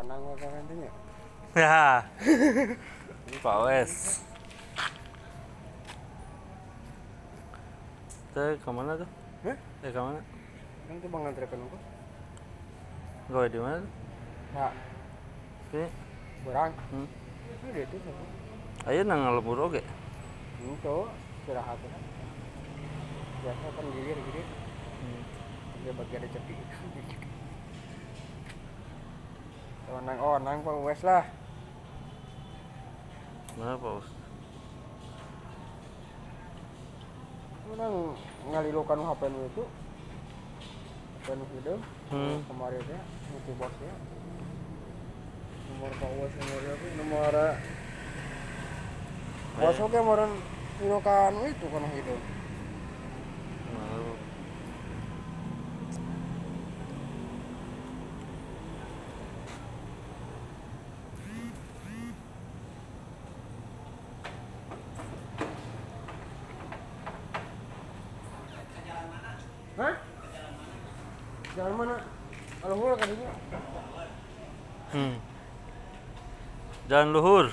Onang apa nantinya? Ya. Pak Wes. Teh kemana tuh? Hah? Teh kemana? Kan tuh bang ngantrikan aku. Gawe di mana tuh? Nah, Oke. berang. Hmm. Ini itu sama. Ayo nang ngalebur oge. Itu istirahat ya. Biasa kan gilir. Dia bagi ada cepi. Onang Pak Wes lah. Mana Pak Wes? Onang ngalilukan HP itu. HP itu. Kemarin ya, itu bosnya. Nomor Pak Wes nomornya apa? Nomor bos oke kemarin ngilukan itu kan itu. Hah? Jalan mana? Kalau hul kan ini. Jalan luhur.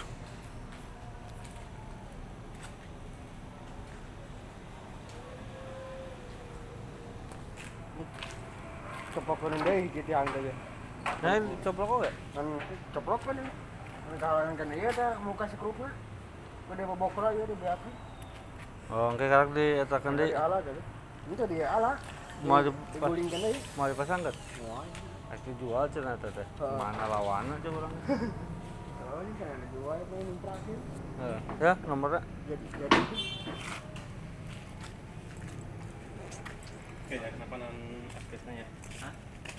Copokin deh hiji tiang teh. Nah, coplok oge. Kan coplok kan ini. Kalau kan iya teh muka sekrupna. Gede bobokra ieu di beakeun. Oh, engke karek dietakeun deui. Di ala tadi. Itu di ala. Mau digulingkeun deui. Mau dipasangkeun? Moal. Aku jual cenah teh teh. Mana lawanna coba urang. Oh, ini kan ada dua itu yang terakhir. Ya, nomornya. Jadi Kayaknya kenapa non aktifnya ya? Hah?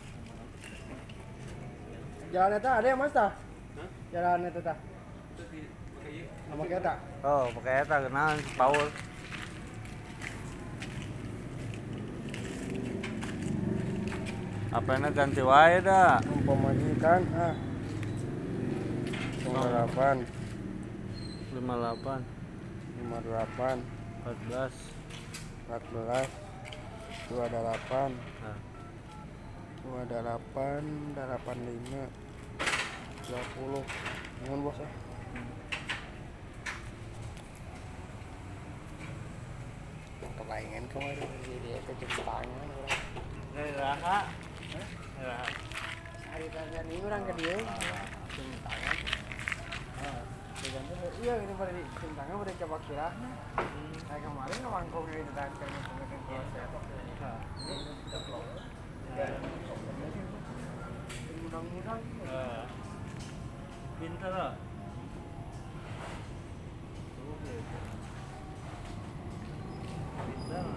jalan eta ada ya Mas tah? Hah? Jalan eta tah. Sama kita. Oh, pakai eta kenalan Paul. Apanya ganti wae dah. Umpamanya kan 58 58 58 14 14 28 nah. 28 85 20 mohon bos ya. Kebayangan kemarin jadi itu jempangan Raha. Raha. hari tanya ini orang ke dia jempangan iya ini pada di jempangan pada coba kira kayak kemarin ngomongin itu tadi kan mudah-mudahan Pintar lah. Pintar.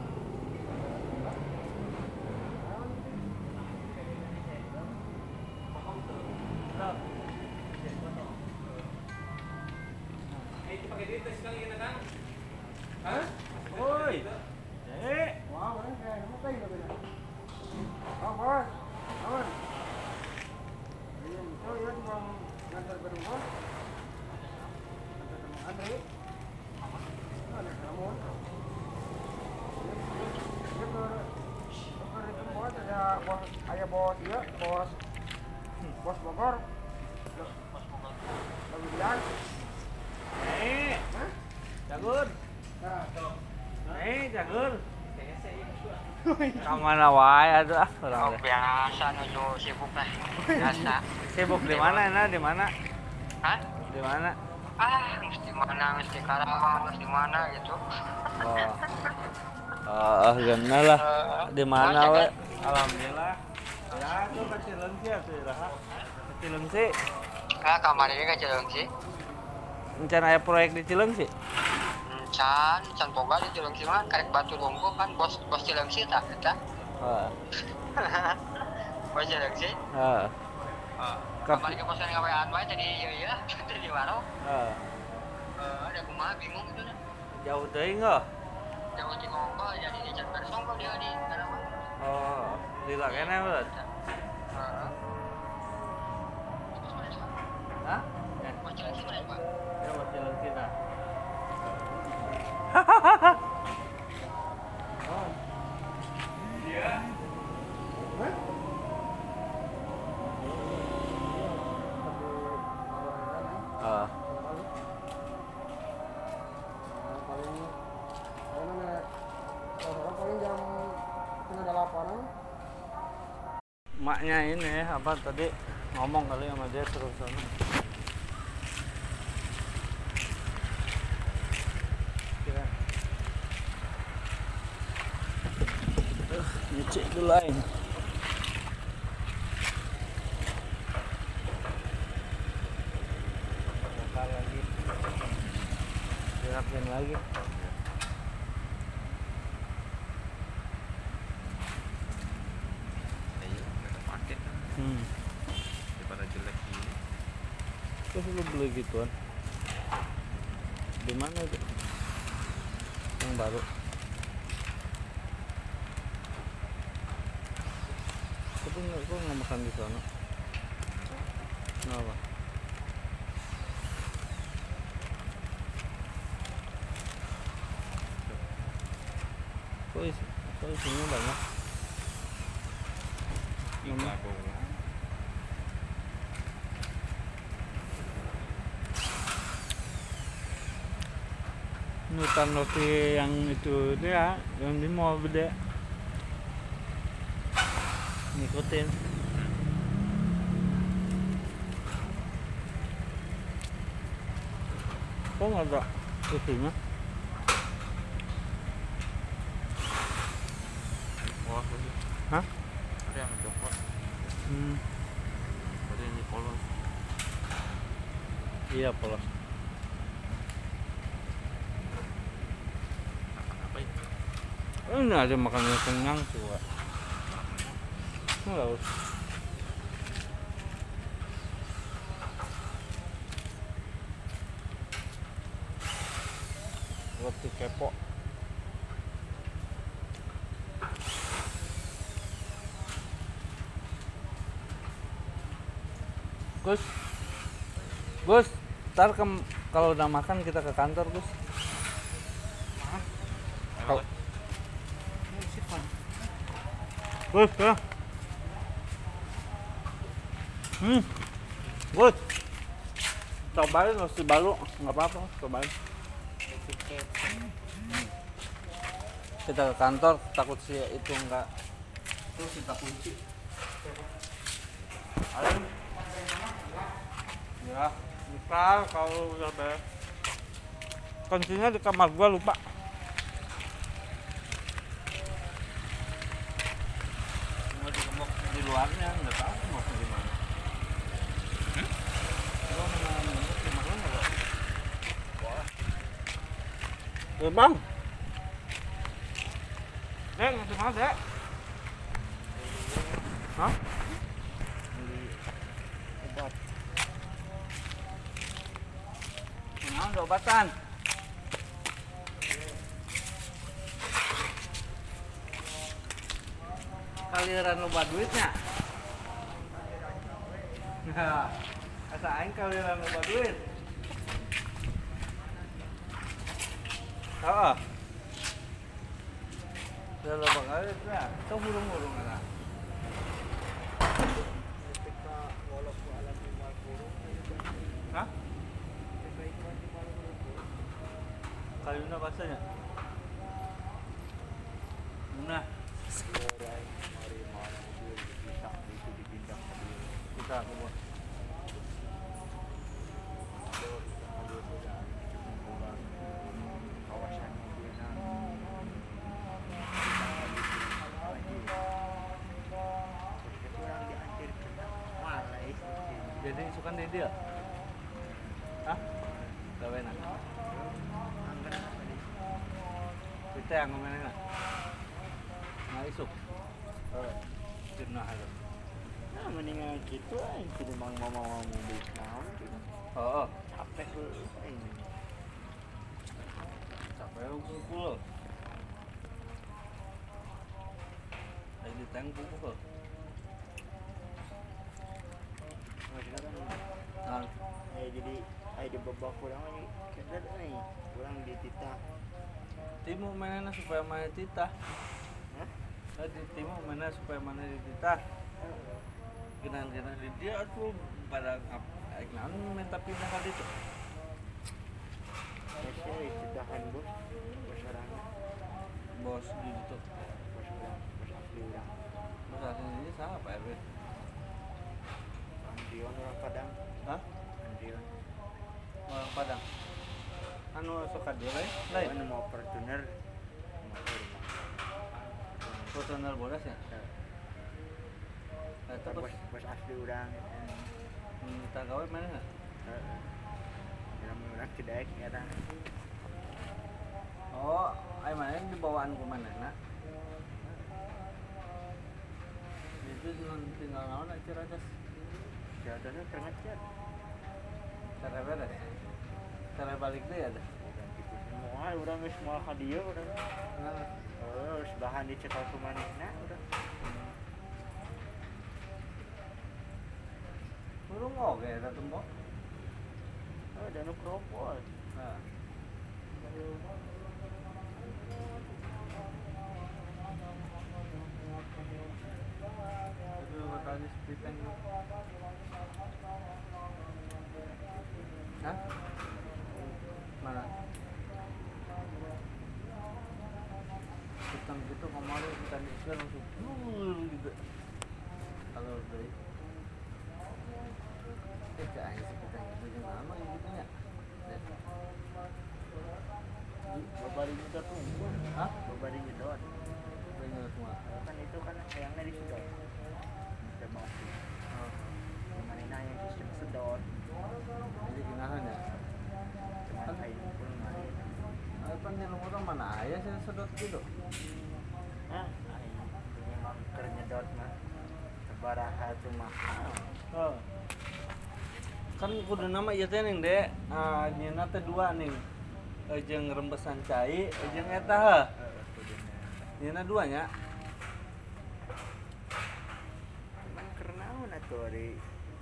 Pakai duit sekali kita kan? hah? Woi. Wah, orang kayak apa kayak gitu ya? Oh, bos. Aman. Iya, itu ya cuma ngantar ke rumah. Ngantar ke rumah Andre. Ada kamu. Bos ada bos ayah bos iya, bos Bogor. Bos Bogor. Lagi bilang. Hah? Jagur. Nah, Jagur. Kamana wae atuh urang teh. Biasa nuju sibuk lah. Biasa. Sibuk di mana nah? Di mana? Hah? Di mana? Mesti mana, mesti Karawang, mesti mana gitu. Gana lah. Di mana we? Alhamdulillah. Ya, itu ka Cileungsi atuh Raha. Cileungsi. Kamar ini kan Cileungsi. Encan aya proyek di Cileungsi. Can boga di Cileungsi mah karek batu lungguh kan bos Cileungsi tah eta. Heeh. Bos Cileungsi. Heeh. Kamar ke bosan ngawean wae tadi ieu tadi di warung. Heeh. Ada kumaha bingung gitu dah. Jauh teuing heuh. Jauh di Ngongko jadi di Can Persong kok dia di Karawang. Oh, lila kene berat. Heeh. Hah? Bos Cileungsi mana, Pak? Ya buat Cileungsi nah. Oh. Paling paling jam setengah 8-an. Maknya ini apa tadi ngomong kali sama dia terus sana. Kira. Nyuci dulu aja. Bakal lagi. Dirapin lagi. Daripada jelek ini. Terus lu beli gituan? Di mana itu? Yang baru. Tapi kok nggak makan di sana? Kenapa? Kok isinya banyak? Enggak dong. Nutan roti yang itu dia, yang di mall gede. Ngikutin. Kok nggak ada isinya? Polos lagi. Hah? Ada yang coklat. Ada yang polos. Iya polos. Apa itu? Ini ada makanan kenyang juga. Enggak usah. Roti kepo. Gus, ntar kalau udah makan kita ke kantor, Gus. Kau. Gus, ya. Gus. Cobain roti baru, nggak apa-apa, cobain. Kita ke kantor, takut sih itu enggak. Terus kita kunci. Ayo. Ya, bisa kalau udah beres. Kuncinya di kamar gua lupa. Mau digembok di luarnya, nggak tahu mau di mana. Gua mau ngembok di mana nggak? Boleh. Bang. Dek, ngasih mana, Dek? Hah? Beli obat. Nah, ada obatan. Kaliran loba duitnya. Nah, asa aing kaliran loba duit. Heeh. Udah loba kali ya. Tuh burung-burung ada. Hah? Kayunya basahnya. Nah. Kita keluar. Jadi sukan di dia. Hah? Gawe nak. Kita yang ngomongin nak. Nah isuk. Jenah ada. Nah, mendingan gitu aja, jadi mau beli naon gitu. Oh, Capek lu ini. capek lu kumpul. Lagi di tank kumpul. Nah, Jadi ada babak kurang lagi kedar nih, kurang di titah. timu mana supaya mana titah. Hah? Timu mana supaya mana di titah. Kena di dia tuh pada minta pindah kali itu. Saya ditahan bos orang Bos di itu. bos asli orang Bos aslinya siapa RW? Andrion orang Padang. Hah? Andrion Orang Padang. Anu suka dia lain. Anu mau Fortuner Fortuner bodas ya. Itu bos asli orang. minta gawe mana nggak? Dalam orang tidak sekarang. Oh, ayo mana yang dibawaan ke mana nak? Itu tinggal naon aja Ciracas. Jatuhnya keringet. Cara beres. Cara balik deh ada. Semua orang semua hadiah orang. Nah, Sebahan dicekal ke manehna udah. burung oke eta tembok. Ada nu kropol. Nah. Itu tadi speeding. Hah? Mana? Hitam gitu kemarin kita bisa langsung gitu. Kalau dari kayaknya sekitar gitu juga lama gitu ya. Babari juga tuh. Hah? Babari nyedot. Bener semua. Kan itu kan sayangnya di sedot. Bisa masuk. Oh. Mana yang sistem sedot. Jadi ginahan ya. Cuma kain pun main. Apa nih orang mana aja sih sedot gitu? Hah? Memang kernyedot mah. Sebaraha tuh mahal. Oh. Kan kudu nama ieu teh ning dek. Nyeuna teh dua ning. Jeung rembesan cai, jeung eta heuh. Nyeuna dua nya. Cuman karena atuh ari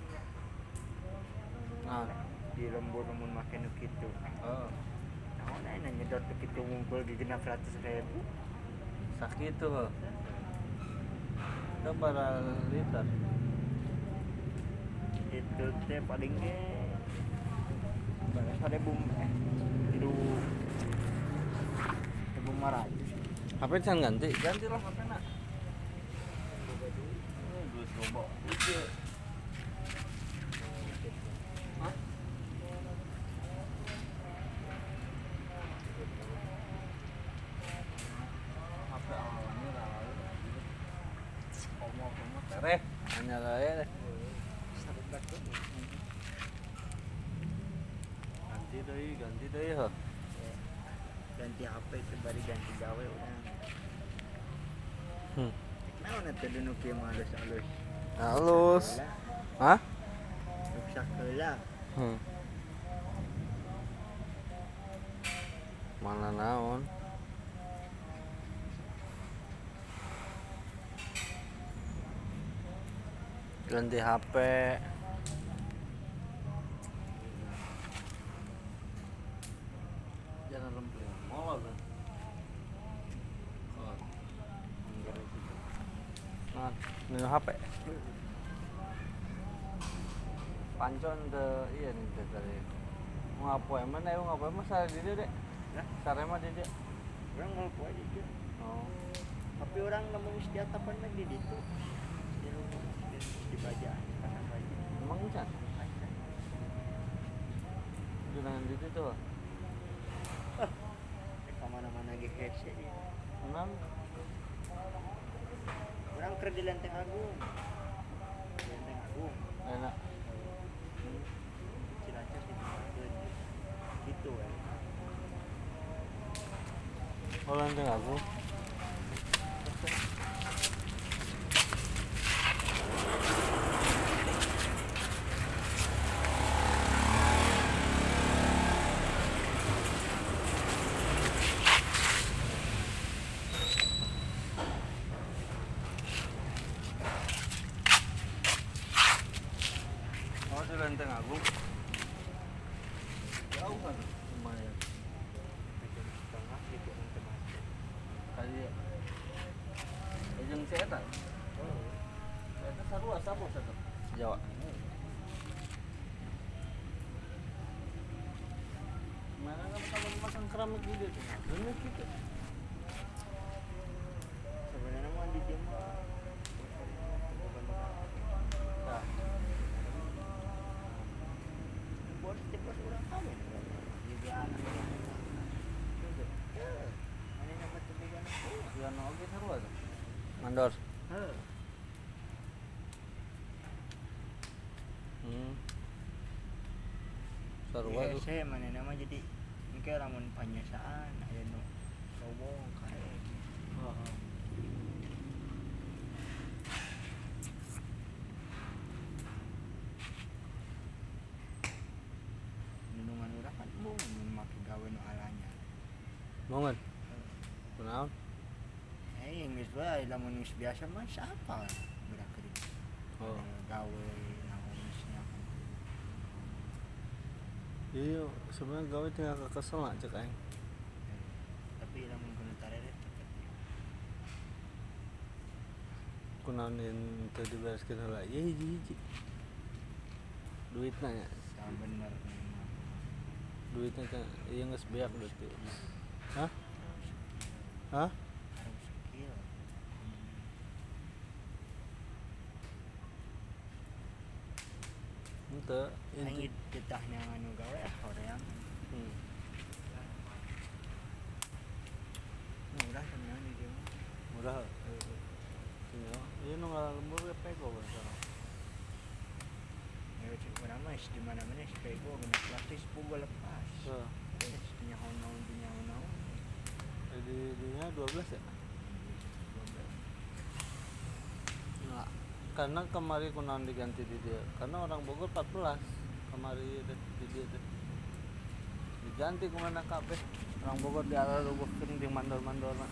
Nah, di lembur mun make nu kitu. oh. Naon aya nyedot teh kitu ngumpul di 600.000. Sakitu heuh. Itu para liter. Itu teh paling ge pada bum itu bum marah. HP can ganti lah HP nak. Duit loba. Hah? HP awalnya lah. Komo tereh hanya lah ya. Ganti deui heuh. Ganti HP itu bari ganti gawe urang. Naon atuh dinu kieu mah halus-halus. Halus. Hah? Rusak heula. Mana naon? Ganti HP. Jangan lempeng. Molor kan. Nah, ini HP. Pancon teu iya nih teh tadi. Mau ngapoe mana ya ngapoe mah sare di dieu dek. Hah? Sare mah di dieu. Urang ngaku aja kieu. Oh. Tapi orang nemu di atapan mah di ditu. Di rumah di bajaan pasang baju. Emang encan? Dengan di situ tuh. Ke mana-mana ge hese dia. Enam. Urang keur di Lenteng Agung. Lenteng Agung. Enak. Cilacap ditempatkeun gitu we. Oh, Lenteng Agung. Oh, di Lenteng Agung. Jauh kan? Lumayan. Tengah gitu teman-teman. Kali ya. Jeung si eta. Oh. Eta sarua sapo satu. Jawa. keramik ide tuh. Bener gitu. Sebenarnya mah di dia mah Nah, bos tipe orang kawin jadi anak itu. mana nama tebukan Ya no oke seru aja. Mandor. Seru aja. saya mana nama jadi ini kayak ramun panyasaan aya nu sobong kayak lindungan urang kan bung make gawe nu alanya Mongen. Kunaon? yang geus bae lamun geus biasa mah siapa gerak geuning Oh. gawe naon nya Iya, sebenarnya gawe tinggal kesel lah cek aing. tapi lamun kudu tarere Kunaon teu dibereskeun heula. Ieu hiji-hiji. Duitna nya. bener Duitnya kan ieu geus beak duit teh. Hah? Hah? harus skill Henteu. Aing ditahnya anu gawe horeang murah tenan di dieu mah. Murah. Tinggal. Ieu nu ngalembur we pego bae. Ya cik urang mah di mana-mana sepego guna plastik sepuluh lepas. Heeh. Terus nyaho-naon nyaho-naon. Di dunia 12 ya? Nah, karena kemarin kunaon diganti di dia. Karena orang Bogor 14 kemarin di dia teh. Diganti kemana kabeh. Orang Bogor di arah rubuhkeun di mandor-mandorna.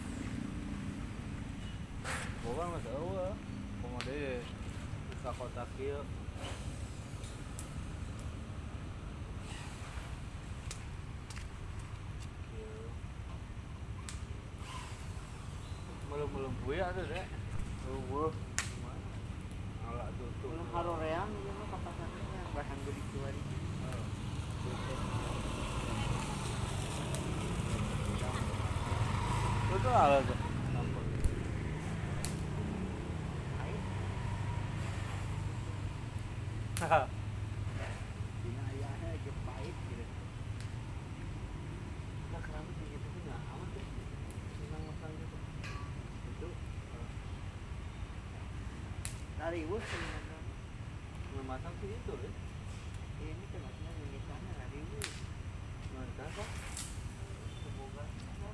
Bogor mah eueuh. Kumaha deui bisa kota kieu. Belum buaya tuh deh. Belum. Ala tuh. Belum haroreang ieu mah kapasarnya bahan geudik tuari. Itu ala tuh. Haha. Dina ayahnya ge pahit gitu. Nah, keramik gitu tuh enggak amat deh. Senang makan gitu. Itu Rariweuh sebenarnya. masak sih itu deh. Ini teh maksudnya misalnya rariweuh. Mantap kok. Semoga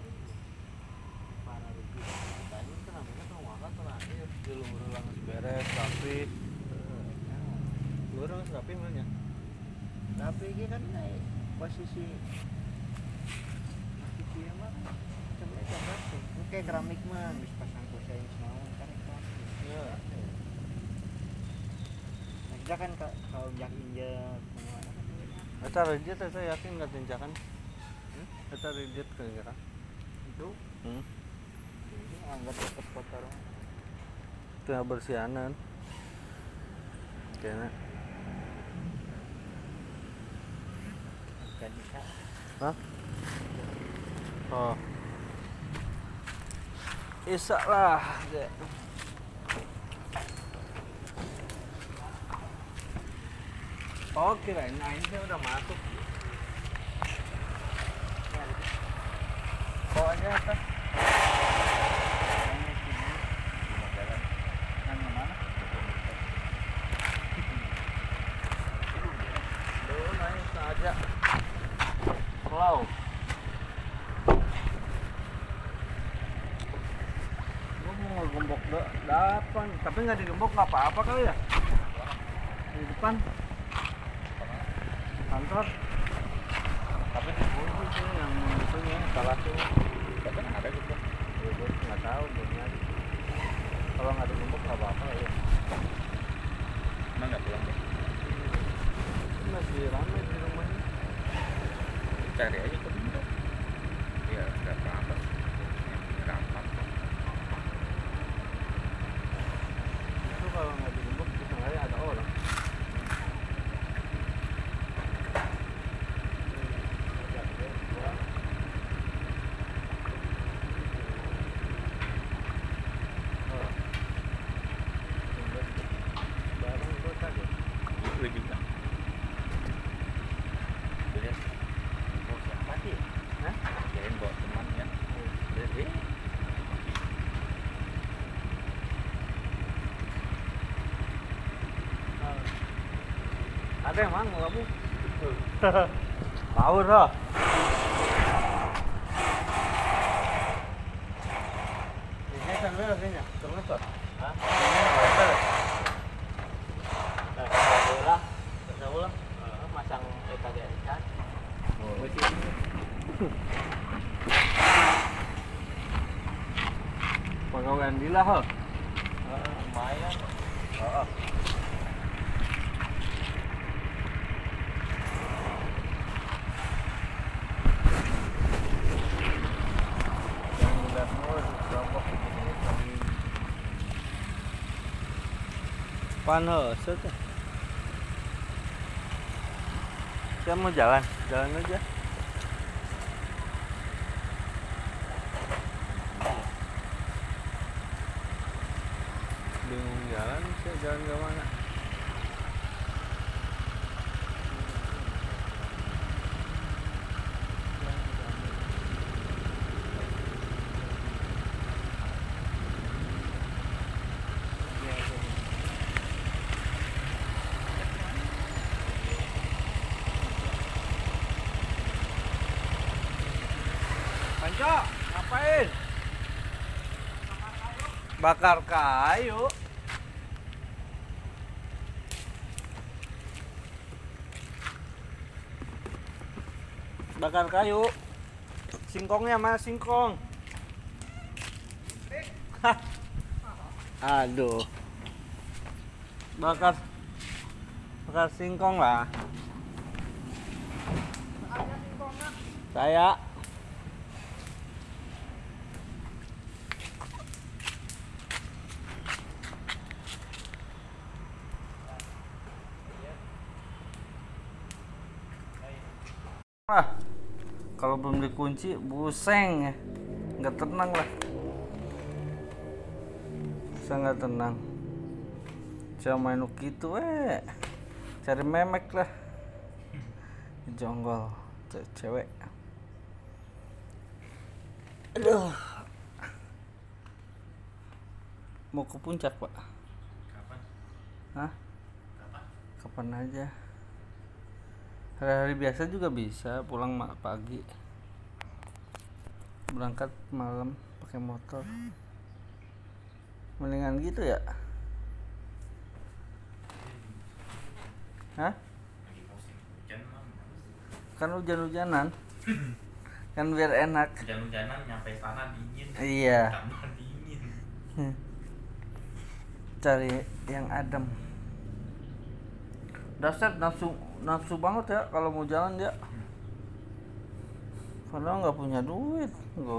para rugi. Tanya keramiknya tuh makan terakhir. Di luar langsung beres rapi. Luar langsung rapi mana? Tapi ini kan posisi dia mah sebenarnya cakep sih. Ini kayak keramik mah bisa pasang kusen naon kan keramik. Iya. Nah, kan kalau injak kemana kan Eta rigid saya yakin nggak tinjakan. Eta rigid kira-kira. itu ini anggap tetap kotor. Tengah bersihanan. Kayaknya. Kan bisa. Hah? Oh. Isak lah. Dek. Oh kirain aing teh udah masuk. Kok aja atas. Ini sini. Yang mana? Duh, naik saja. Wow. Gua mau ngegembok depan, tapi nggak digembok nggak apa-apa kali ya? Di depan kantor. Tapi dikunci sih yang itunya salah tuh. Tapi ada gitu. Ya, gua nggak tahu belumnya. Kalau nggak digembok nggak apa-apa ya. Emang nggak pulang deh. Masih ramai di rumahnya. Cari aja ke bintang. Ya nggak apa-apa. Gampang. Itu kalau nggak digembok di tengahnya ada orang. Ada emang kamu? Power loh. Ini sambil kayaknya terus tuh. Hah? Nah, ulang. Masang tadi kan. Pegawai Andila ho. Lumayan. Heeh. Panas saja. Saya mau jalan aja. Bingung jalan, saya jalan ke mana? Panco, ngapain? Bakar kayu. Bakar kayu. Singkongnya mana singkong? Aduh. Bakar singkong lah. Saya. Kalau belum dikunci buseng, nggak tenang lah. Saya nggak tenang. Saya main gitu cari memek lah. Jonggol cewek. Aduh. Mau ke puncak, Pak? Kapan? Hah? Kapan? Kapan aja. Hari-hari biasa juga bisa pulang pagi, berangkat malam pakai motor. Mendingan gitu ya? Hah? Lagi musim hujan mah. Kan hujan-hujanan. Kan biar enak. Hujan-hujanan nyampe sana dingin. Iya. Tambah dingin. Cari yang adem. Dasar nafsu banget ya kalau mau jalan ya. Padahal nggak punya duit.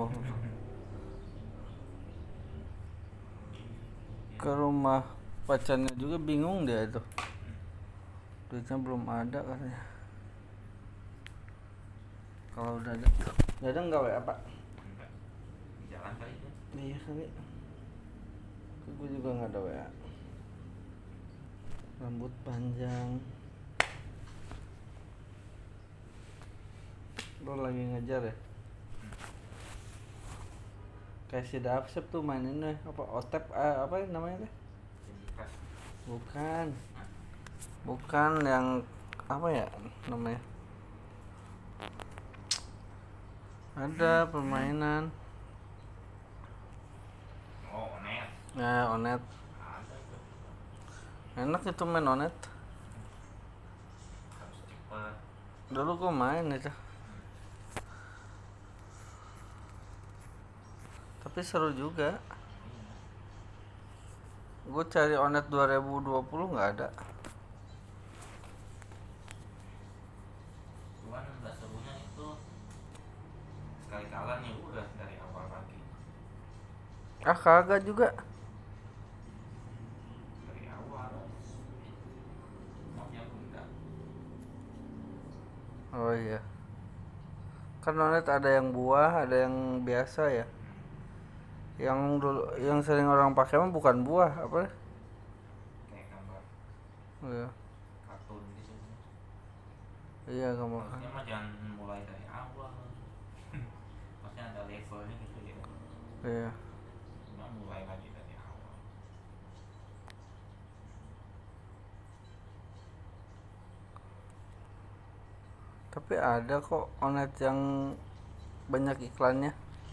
Ke rumah pacarnya juga bingung dia itu. Duitnya belum ada katanya. Kalau udah ada, nggak WA Pak? Enggak. Jalan kali ya. Iya kali. Gue juga nggak ada WA. Rambut panjang. Lo lagi ngejar ya? Kayak si Dapsep tuh maininnya apa Otep apa namanya teh? Bukan yang apa ya namanya? Ada permainan. Oh, Onet. Nah, Onet. Ada tuh. Enak itu main Onet. Harus cepat. Dulu gue main itu. Tapi seru juga. Gue cari Onet 2020 nggak ada. Cuman nggak serunya itu sekali kalah nih udah dari awal lagi. Ah kagak juga. Dari awal. Maunya bunda. Oh iya. Kan Onet ada yang buah, ada yang biasa ya. Yang dulu yang sering orang pakai mah bukan buah, apa? Kayak gambar Iya. kartun gitu. Iya, gambar. Maksudnya mah jangan mulai dari awal. Maksudnya ada levelnya gitu ya. Iya. Cuma mulai lagi dari awal. Tapi ada kok Onet yang banyak iklannya.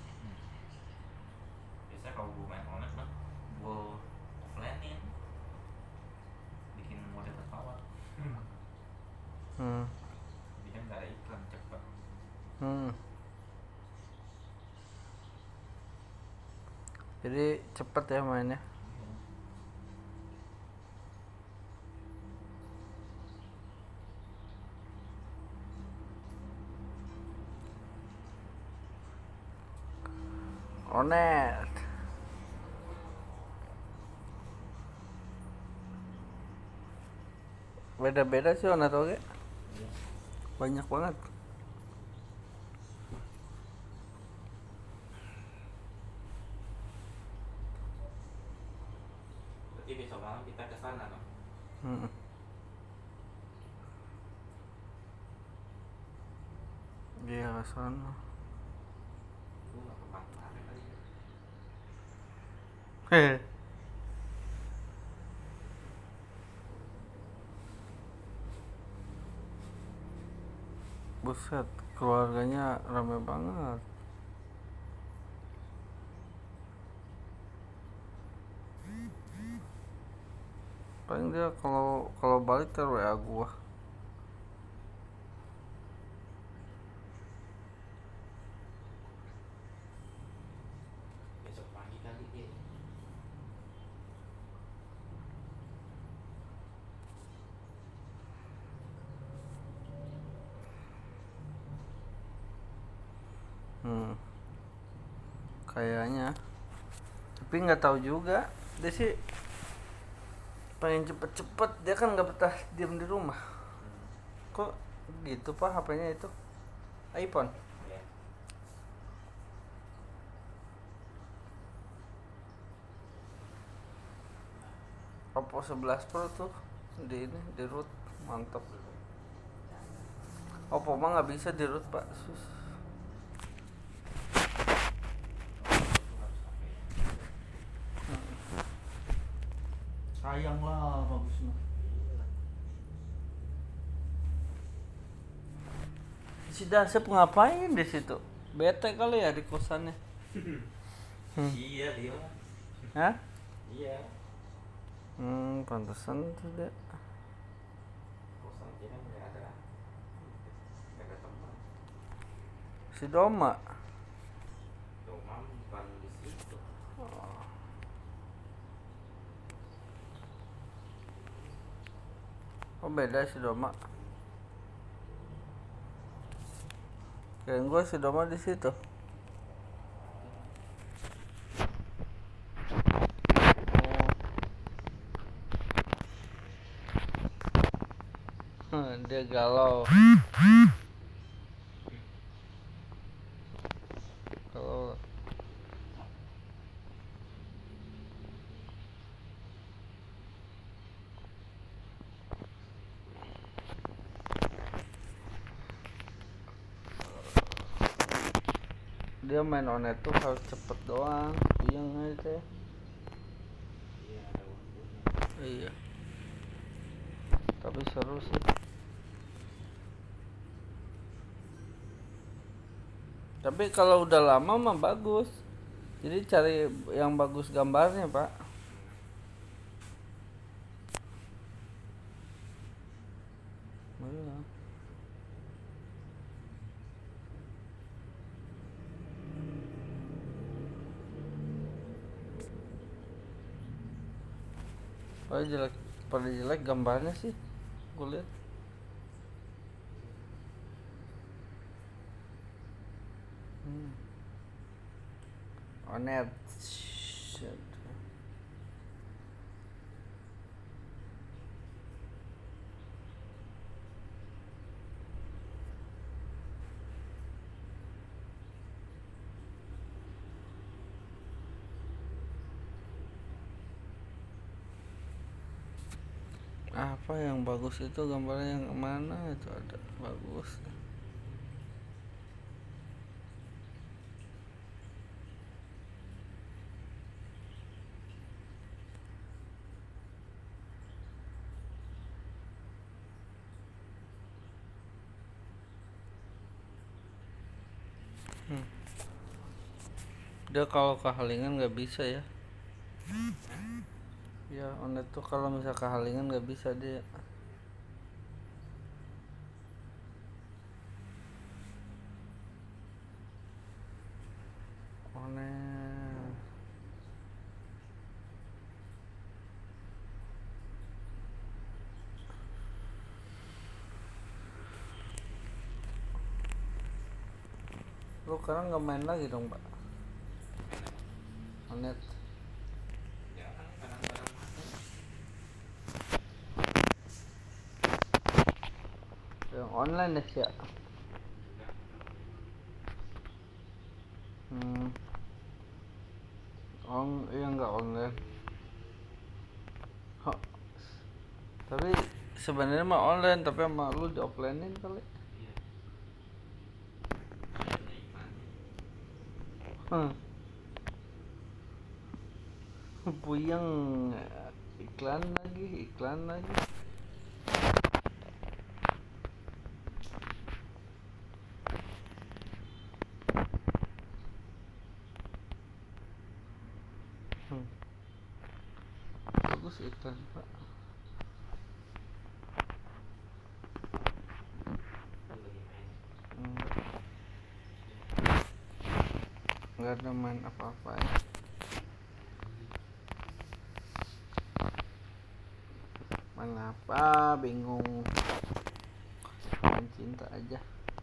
Biasanya kalau gue main online mah gue offline-in bikin mode pesawat. Hmm. Jadi kan gak ada iklan, cepet. Jadi cepet ya mainnya. Onet. Beda-beda sih Onet oke. Banyak banget. Berarti besok malam kita ke sana dong. Iya kesana. Gue gak ke pantai kali ya. Hehe. Buset, keluarganya rame banget. Paling dia kalau balik ter WA gua. Besok pagi kali dia. Kayaknya. Tapi nggak tahu juga. Dia sih pengen cepet-cepet. Dia kan nggak betah diam di rumah. Kok gitu pak HP-nya itu? iPhone. Ya. Oppo 11 Pro tuh di root mantap. Oppo mah nggak bisa di root pak. Sayang lah bagusnya. Si Dasep ngapain di situ? Bete kali ya di kosannya. Iya dia. Hah? Iya. Pantesan tuh dia. Kosan dia kan gak ada teman. Si Doma. Domam bukan di situ. Oh beda si Doma. Kirain gue si Doma di situ. Dia galau. Galau. Dia main Onet tuh harus cepet doang. Yang aja. Iya ada waktunya. Iya. Tapi seru sih. Tapi kalau udah lama mah bagus. Jadi cari yang bagus gambarnya pak. Iya. Pada jelek gambarnya sih. Gue lihat. Onet. Shit. Apa yang bagus itu gambarnya yang mana itu ada bagus. Dia kalau kehalingan nggak bisa ya. Ya Onet tuh kalau misal kehalingan nggak bisa dia. Onet. Lu sekarang nggak main lagi dong Pak? Onet. Ya kan kadang-kadang masuk. Yang online deh ya. Iya nggak online. Hah. Tapi sebenarnya mah online, tapi sama lu di offline-in kali. Iya. Puyeng, iklan lagi. Bagus iklan Pak. Lu lagi main. Nggak ada main apa-apa ya. Main apa? Bingung. Main cinta aja.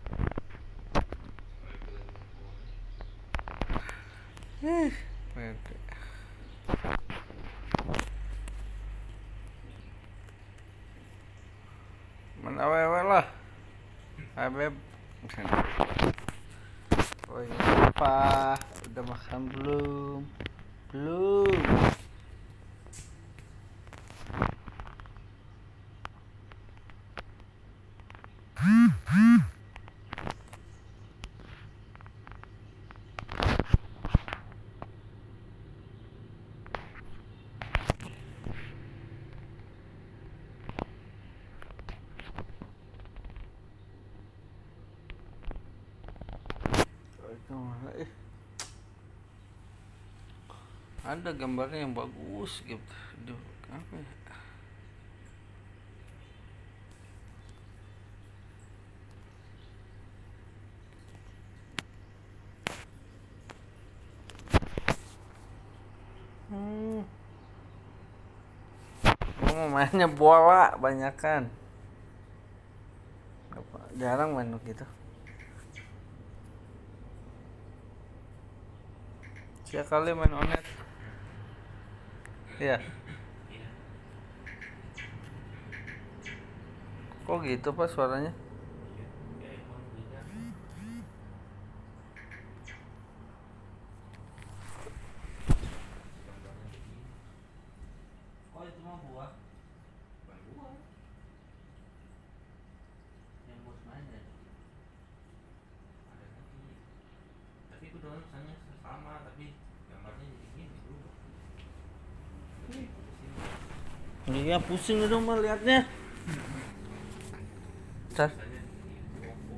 Pede. Main awewe lah. Hai beb. Oh ini apa? Udah makan belum? Belum. Ada gambarnya yang bagus gitu. Aduh, apa ya? Gua mau mainnya bola banyakan. Jarang main gitu. Siapa kali main Onet? Iya. Iya. Kok gitu Pak suaranya? Iya. Ya emang beda. Gambarnya begini. Oh itu mah buah. Bukan buah. Yang bos main ya. Ada lagi. Tapi itu doang misalnya sama, tapi gambarnya jadi gini berubah. Iya pusing itu mah liatnya. Car. Misalnya di Oppo.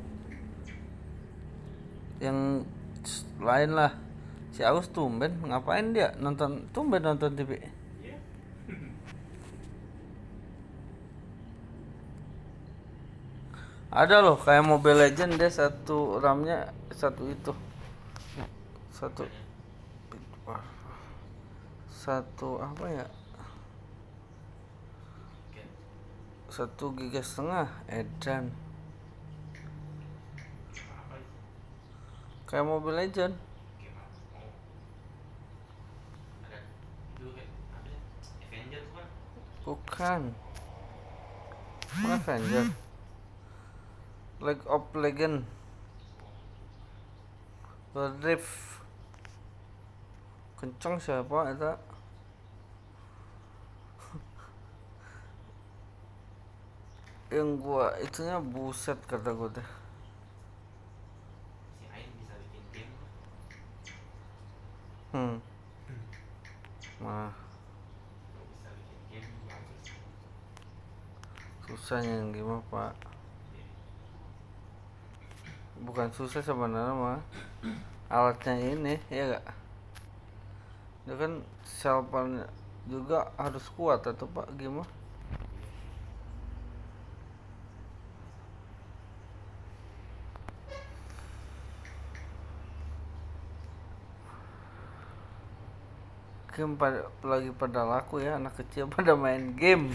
Yang lain lah. Si Agus tumben ngapain dia nonton TV? Iya. Ada loh kayak Mobile Legend dia satu RAM-nya satu itu. Satu apa ya? 1,5 GB edan. Apa itu? Kayak Mobile Legend. Game apa? Oh. Ada itu kayak apa ya? Avenger tuh kan? Bukan. Bukan Avenger. League of Legend. Wild Rift. Kenceng siapa itu? Yang gua itunya buset kata gua teh. Si Ain bisa bikin game tuh. Mah Bisa bikin game bagus. susahnya yang gimana Pak? bukan susah sebenarnya mah, alatnya ini ya gak, itu kan selpannya juga harus kuat atau pak gimana. Game lagi pada laku ya, anak kecil pada main game.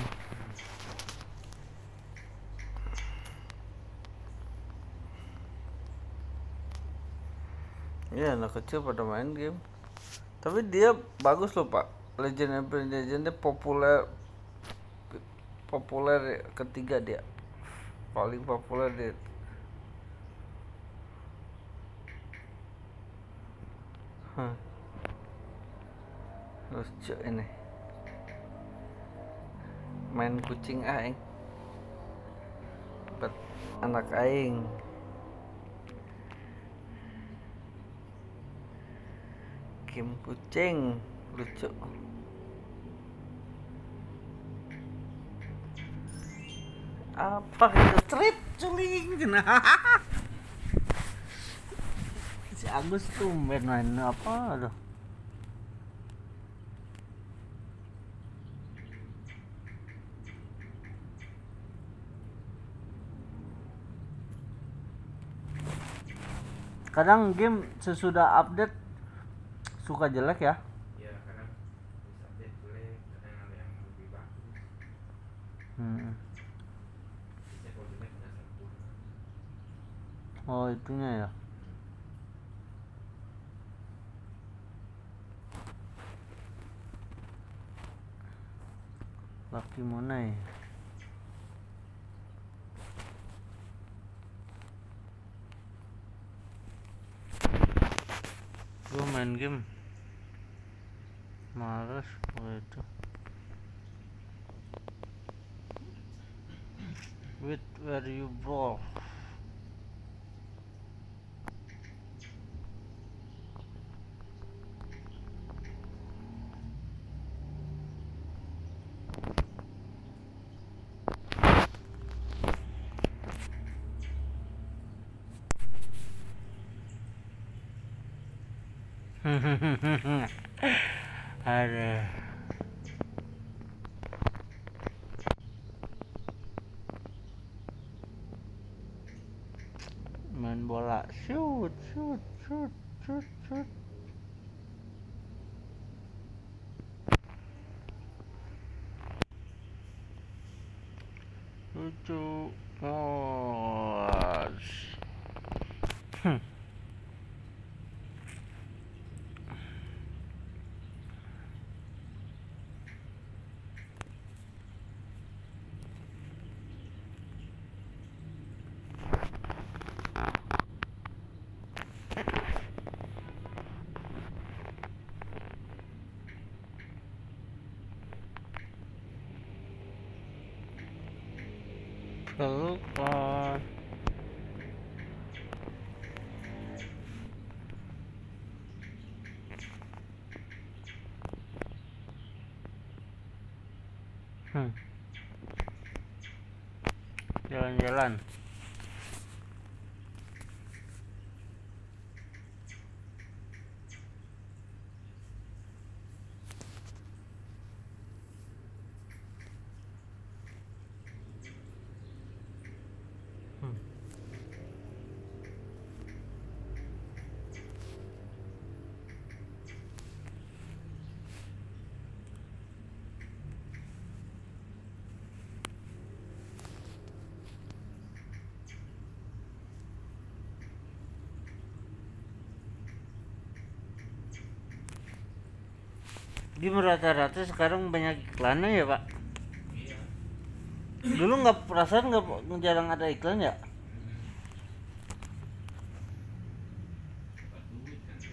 Iya, anak kecil pada main game. Tapi dia bagus loh pak. Legend of Legendnya populer ketiga dia. Paling populer dia. Lucu ini. Main kucing aing. Bet anak aing. Game kucing lucu. Apa itu trip culing si Agus tuh main apa aduh. Kadang game sesudah update suka jelek ya. Iya, kadang bisa update jelek, kadang ada yang lebih bagus. Biasanya kalau jelek nggak sempurna. Oh itunya ya. Lucky Money. Gue main game males itu. With where you bro. Aduh. Main bola, shoot. Lucu. Pelukan. Jalan-jalan. Game rata-rata sekarang banyak iklannya ya pak. Iya. Dulu nggak perasaan nggak jarang ada iklan ya. Dapat duit kan dia.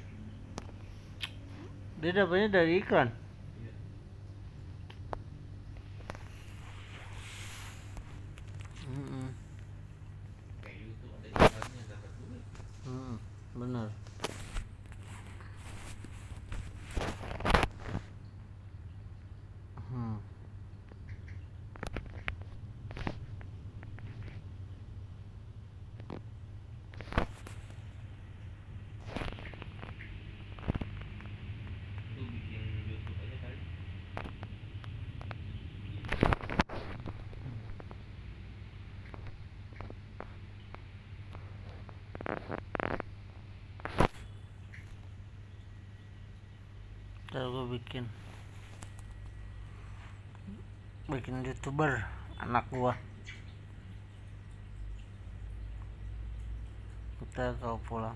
Dia dapatnya dari iklan. Iya. Kayak YouTube ada iklannya dapat duit. Benar. Ntar gue bikin YouTuber anak gua. Kita kau pulang.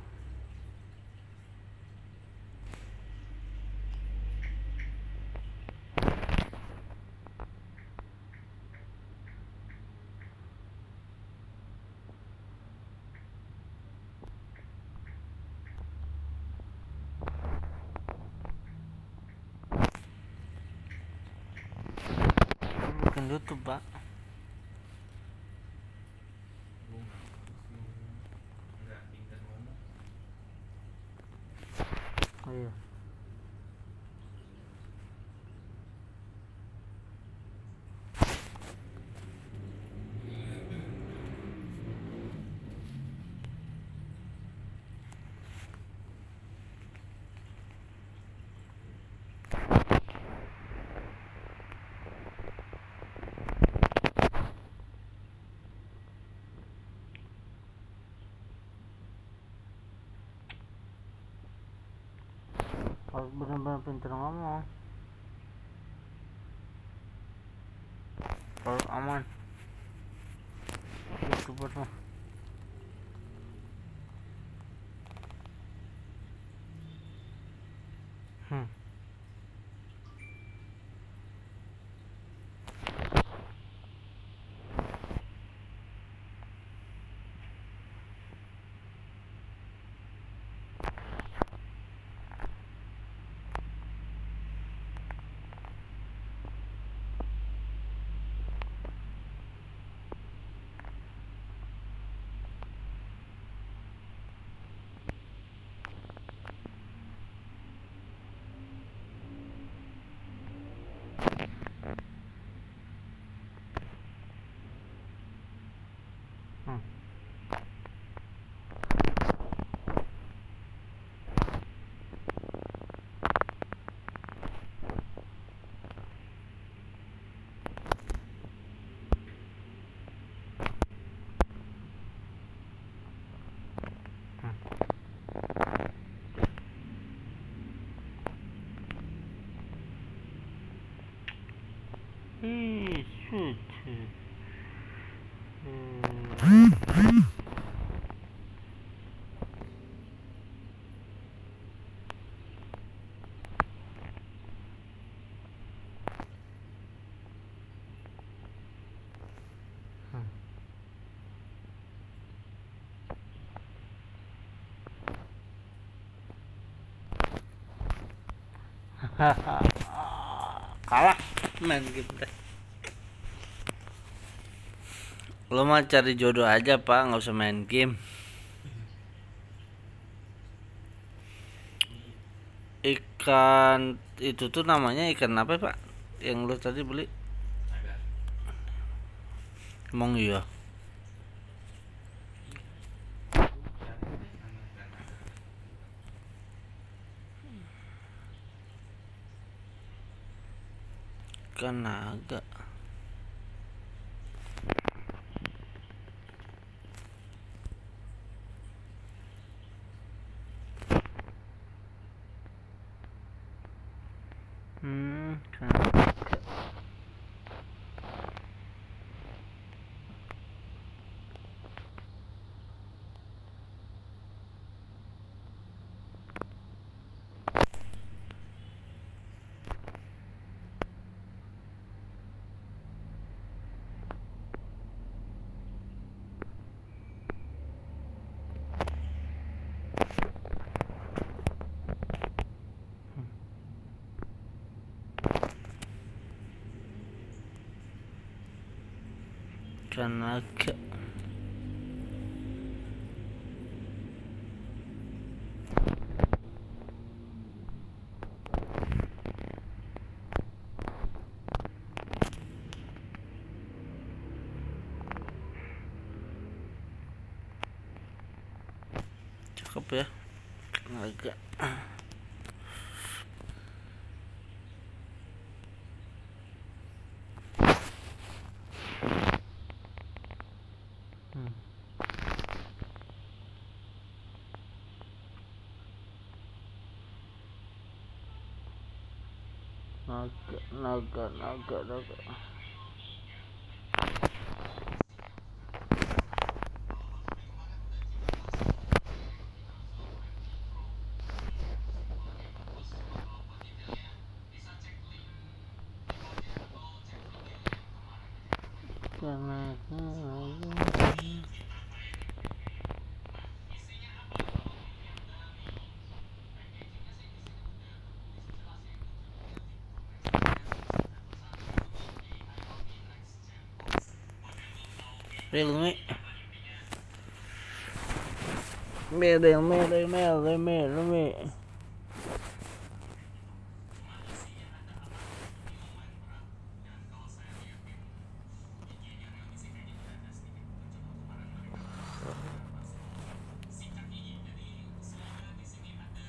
Bikin YouTube, Pak. Enggak pintar ngomong. Oh iya. Harus benar-benar pintar ngomong. Kalau aman YouTuber mah. Shoot. Kalah main game teh. Lo mah cari jodoh aja, Pak, nggak usah main game. Ikan itu tuh namanya ikan apa, Pak? Yang lo tadi beli? Naga. Emang iya. Ikan naga. Ikan naga. Ikan naga. Cakep ya, ikan naga. naga. Realme Realme